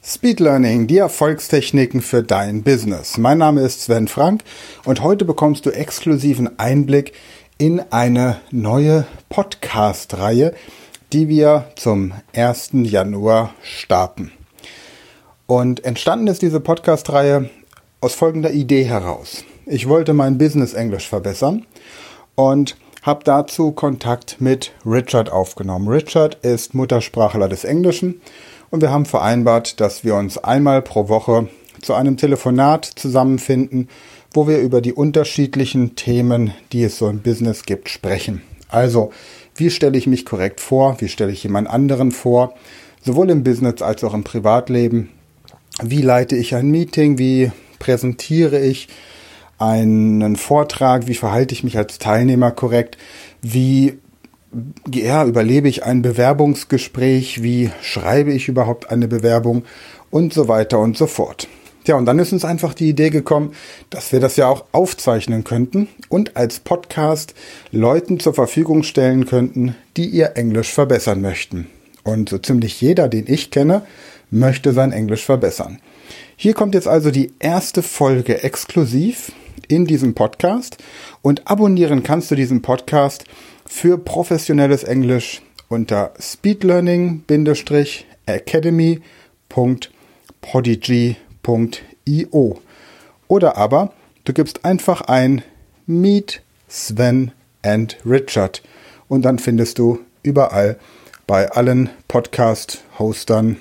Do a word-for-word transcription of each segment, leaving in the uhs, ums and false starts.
Speed Learning, die Erfolgstechniken für dein Business. Mein Name ist Sven Frank und heute bekommst du exklusiven Einblick in eine neue Podcast-Reihe, die wir zum ersten Januar starten. Und entstanden ist diese Podcast-Reihe aus folgender Idee heraus. Ich wollte mein Business-Englisch verbessern und habe dazu Kontakt mit Richard aufgenommen. Richard ist Muttersprachler des Englischen. Und wir haben vereinbart, dass wir uns einmal pro Woche zu einem Telefonat zusammenfinden, wo wir über die unterschiedlichen Themen, die es so im Business gibt, sprechen. Also, wie stelle ich mich korrekt vor? Wie stelle ich jemand anderen vor? Sowohl im Business als auch im Privatleben. Wie leite ich ein Meeting? Wie präsentiere ich einen Vortrag? Wie verhalte ich mich als Teilnehmer korrekt? Wie Ja, überlebe ich ein Bewerbungsgespräch, wie schreibe ich überhaupt eine Bewerbung und so weiter und so fort. Ja, und dann ist uns einfach die Idee gekommen, dass wir das ja auch aufzeichnen könnten und als Podcast Leuten zur Verfügung stellen könnten, die ihr Englisch verbessern möchten. Und so ziemlich jeder, den ich kenne, möchte sein Englisch verbessern. Hier kommt jetzt also die erste Folge exklusiv in diesem Podcast und abonnieren kannst du diesen Podcast für professionelles Englisch unter speedlearning academy punkt podigy punkt io oder aber du gibst einfach ein Meet Sven and Richard und dann findest du überall bei allen Podcast-Hostern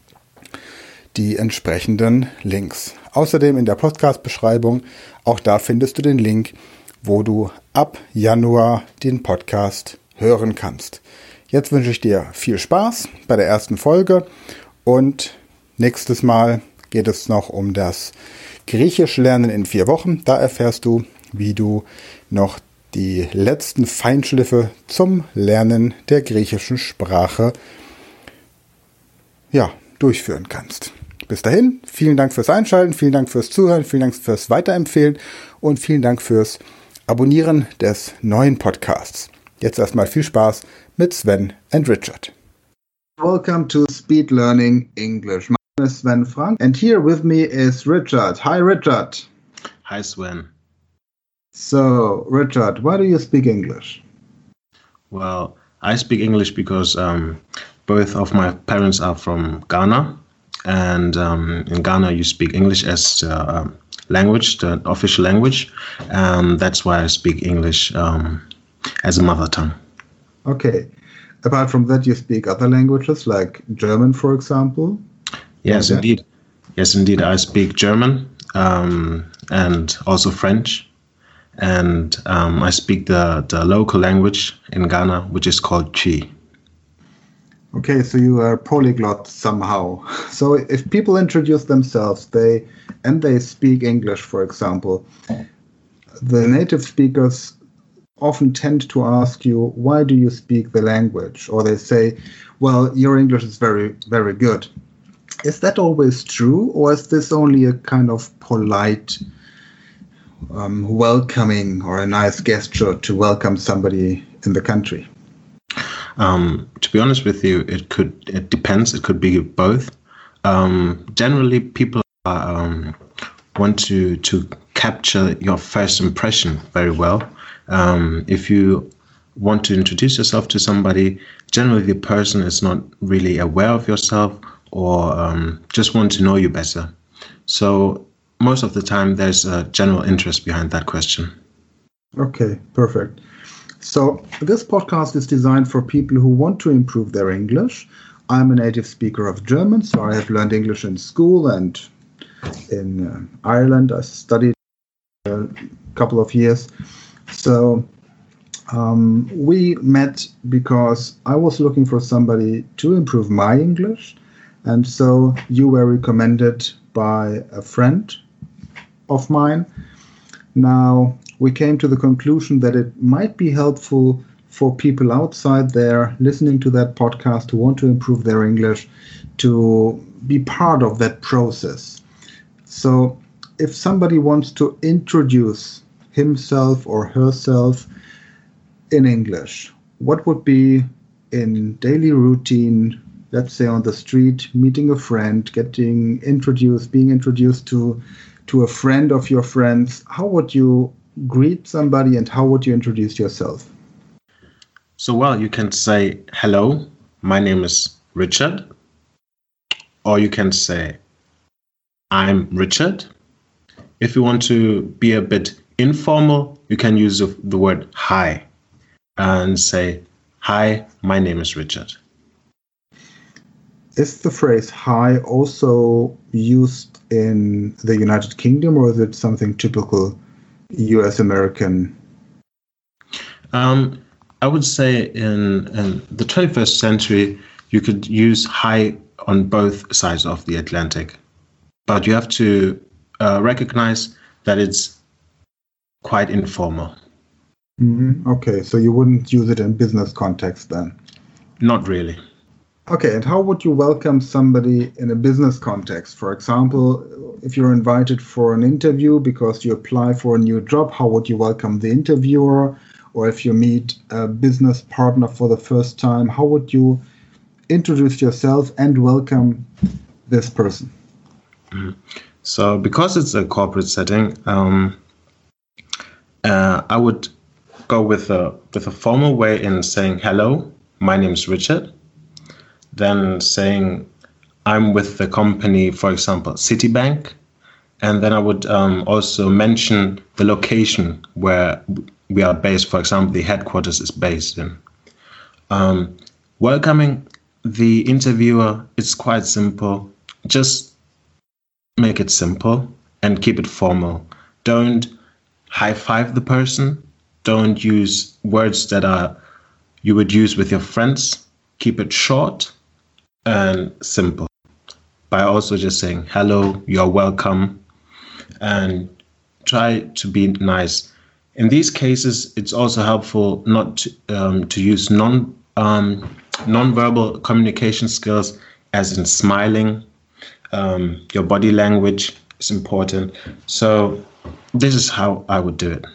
die entsprechenden Links. Außerdem in der Podcast-Beschreibung, auch da findest du den Link, wo du ab Januar den Podcast hören kannst. Jetzt wünsche ich dir viel Spaß bei der ersten Folge und nächstes Mal geht es noch um das Griechisch lernen in vier Wochen. Da erfährst du, wie du noch die letzten Feinschliffe zum Lernen der griechischen Sprache ja, durchführen kannst. Bis dahin, vielen Dank fürs Einschalten, vielen Dank fürs Zuhören, vielen Dank fürs Weiterempfehlen und vielen Dank fürs Abonnieren des neuen Podcasts. Jetzt erstmal viel Spaß mit Sven and Richard. Welcome to Speed Learning English. My name is Sven Frank and here with me is Richard. Hi Richard. Hi Sven. So Richard, why do you speak English? Well, I speak English because um, both of my parents are from Ghana, and um, in Ghana you speak English as uh, language, the official language. Um, that's why I speak English um, as a mother tongue. Okay. Apart from that, you speak other languages like German, for example? Yes, okay. indeed. Yes, indeed. I speak German um, and also French. And um, I speak the, the local language in Ghana, which is called Chi. Okay, so you are polyglot somehow. So if people introduce themselves, they and they speak English, for example, the native speakers often tend to ask you, why do you speak the language? Or they say, well, your English is very, very good. Is that always true? Or is this only a kind of polite um, welcoming or a nice gesture to welcome somebody in the country? Um, to be honest with you, it could, it depends. It could be both. Um, generally, people are, um, want to, to capture your first impression very well. Um, if you want to introduce yourself to somebody, generally the person is not really aware of yourself or um, just want to know you better. So most of the time, there's a general interest behind that question. Okay, perfect. So this podcast is designed for people who want to improve their English. I'm a native speaker of German, so I have learned English in school and in uh, Ireland. I studied a couple of years. So um, we met because I was looking for somebody to improve my English. And so you were recommended by a friend of mine. Now, we came to the conclusion that it might be helpful for people outside there listening to that podcast who want to improve their English to be part of that process. So if somebody wants to introduce himself or herself in English, what would be in daily routine let's say on the street, meeting a friend, getting introduced, being introduced to to a friend of your friends, how would you greet somebody and how would you introduce yourself? So, well, you can say, hello, my name is Richard. Or you can say, I'm Richard. If you want to be a bit informal, you can use the word hi and say, hi, my name is Richard. Is the phrase hi also used in the United Kingdom, or is it something typical U S American? Um, I would say in, in the twenty-first century, you could use hi on both sides of the Atlantic. But you have to uh, recognize that it's quite informal. Mm-hmm. Okay, so you wouldn't use it in business context then? Not really. Okay, and how would you welcome somebody in a business context? For example, if you're invited for an interview because you apply for a new job, how would you welcome the interviewer? Or if you meet a business partner for the first time, how would you introduce yourself and welcome this person? Mm-hmm. So because it's a corporate setting, um, uh, I would go with a, with a formal way in saying, hello, my name is Richard. Then saying, I'm with the company, for example, Citibank. And then I would um, also mention the location where we are based. For example, the headquarters is based in. Um, welcoming the interviewer, it's quite simple. Just make it simple and keep it formal. Don't high five the person. Don't use words that are you would use with your friends. Keep it short and simple. By also just saying hello, you're welcome, and try to be nice. In these cases, it's also helpful not to, um, to use non um, non-verbal communication skills, as in smiling. Um, your body language is important. So this is how I would do it.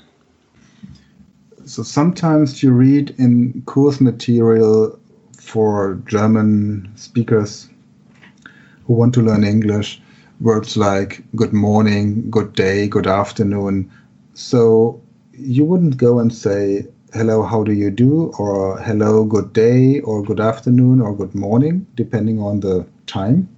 So sometimes you read in course material for German speakers who want to learn English, words like good morning, good day, good afternoon. So you wouldn't go and say, hello, how do you do? Or hello, good day, or good afternoon, or good morning, depending on the time?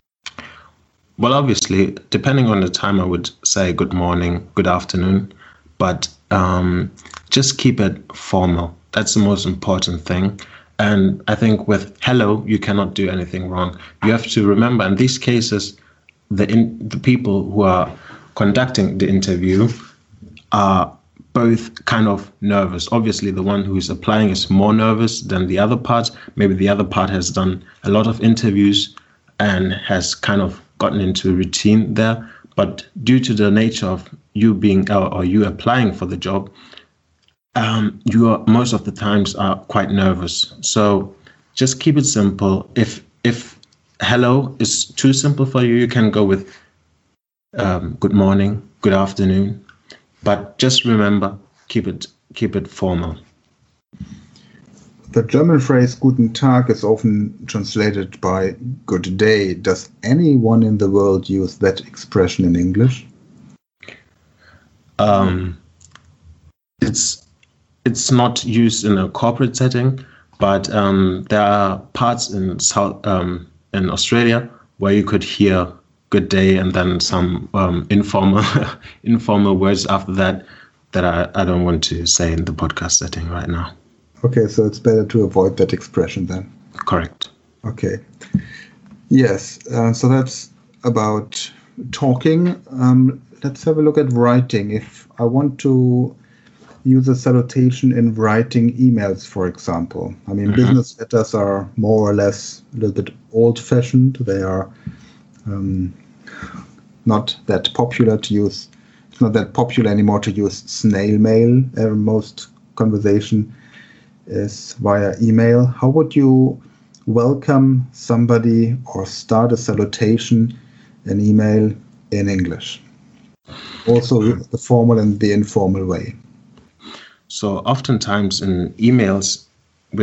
Well, obviously, depending on the time, I would say good morning, good afternoon, but um, just keep it formal. That's the most important thing. And I think with hello, you cannot do anything wrong. You have to remember, in these cases, the in, the people who are conducting the interview are both kind of nervous. Obviously, the one who is applying is more nervous than the other part. Maybe the other part has done a lot of interviews and has kind of gotten into a routine there. But due to the nature of you being or, or you applying for the job, Um, you are most of the times are quite nervous. So just keep it simple. If if hello is too simple for you, you can go with um, good morning, good afternoon. But just remember, keep it keep it formal. The German phrase Guten Tag is often translated by good day. Does anyone in the world use that expression in English? Um, it's It's not used in a corporate setting, but um, there are parts in South um, in Australia where you could hear "good day" and then some um, informal informal words after that that I, I don't want to say in the podcast setting right now. Okay, so it's better to avoid that expression then. Correct. Okay. Yes, uh, so that's about talking. Um, let's have a look at writing. If I want to use a salutation in writing emails, for example. I mean, mm-hmm. business letters are more or less a little bit old-fashioned. They are um, not that popular to use. It's not that popular anymore to use snail mail. Uh, most conversation is via email. How would you welcome somebody or start a salutation in email in English? Also the formal and the informal way. So oftentimes in emails with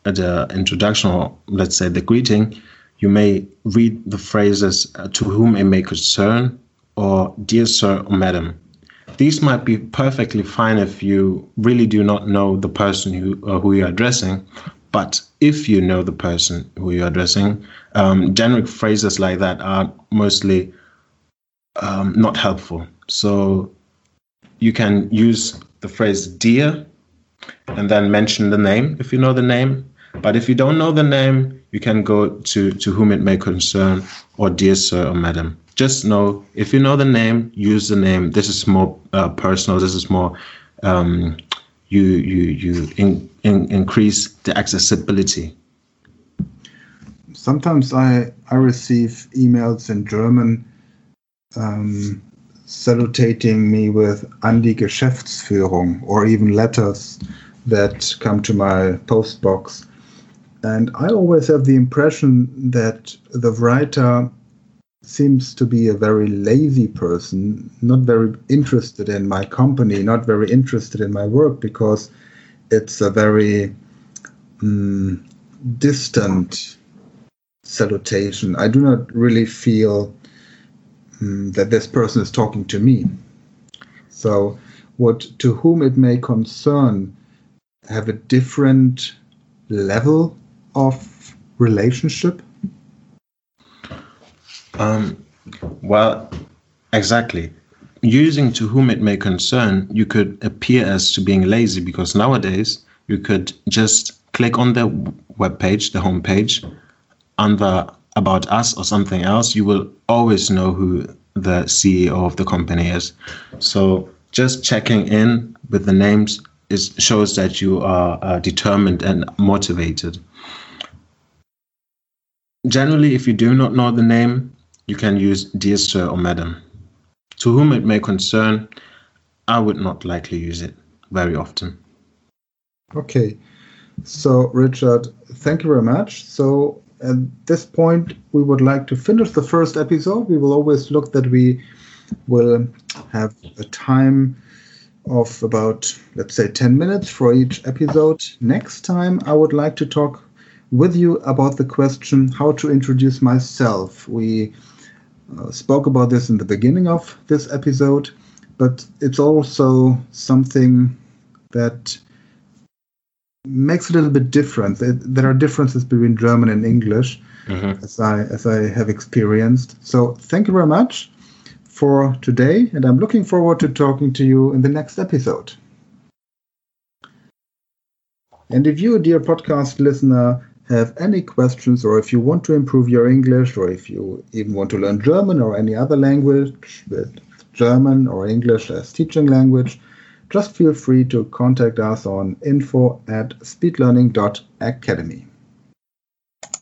the introduction, or let's say the greeting, you may read the phrases uh, to whom it may concern, or dear sir or madam. These might be perfectly fine if you really do not know the person who, uh, who you're addressing. But if you know the person who you're addressing, um, generic phrases like that are mostly um, not helpful. So you can use the phrase dear and then mention the name if you know the name. But if you don't know the name, you can go to, to whom it may concern, or dear sir or madam. Just know, if you know the name, use the name. This is more uh, personal. This is more, um, you you you in, in, increase the accessibility. Sometimes I, I receive emails in German um, salutating me with an die Geschäftsführung, or even letters that come to my post box. And I always have the impression that the writer seems to be a very lazy person, not very interested in my company, not very interested in my work, because it's a very um, distant salutation. I do not really feel um, that this person is talking to me. So what to whom it may concern have a different level of relationship? Um, well, exactly. Using to whom it may concern, you could appear as to being lazy, because nowadays you could just click on the web page, the home page, under About Us or something else. You will always know who the C E O of the company is. So just checking in with the names is shows that you are uh, determined and motivated. Generally, if you do not know the name, you can use dear sir or madam. To whom it may concern, I would not likely use it very often. Okay, so Richard, thank you very much. So at this point, we would like to finish the first episode. We will always look that we will have a time of about, let's say, ten minutes for each episode. Next time, I would like to talk with you about the question how to introduce myself. We uh, spoke about this in the beginning of this episode, but it's also something that makes it a little bit different. It, there are differences between German and English, mm-hmm. as I as I have experienced. So thank you very much for today, and I'm looking forward to talking to you in the next episode. And if you, dear podcast listener, have any questions, or if you want to improve your English, or if you even want to learn German or any other language with German or English as teaching language, just feel free to contact us on info at speedlearning dot academy.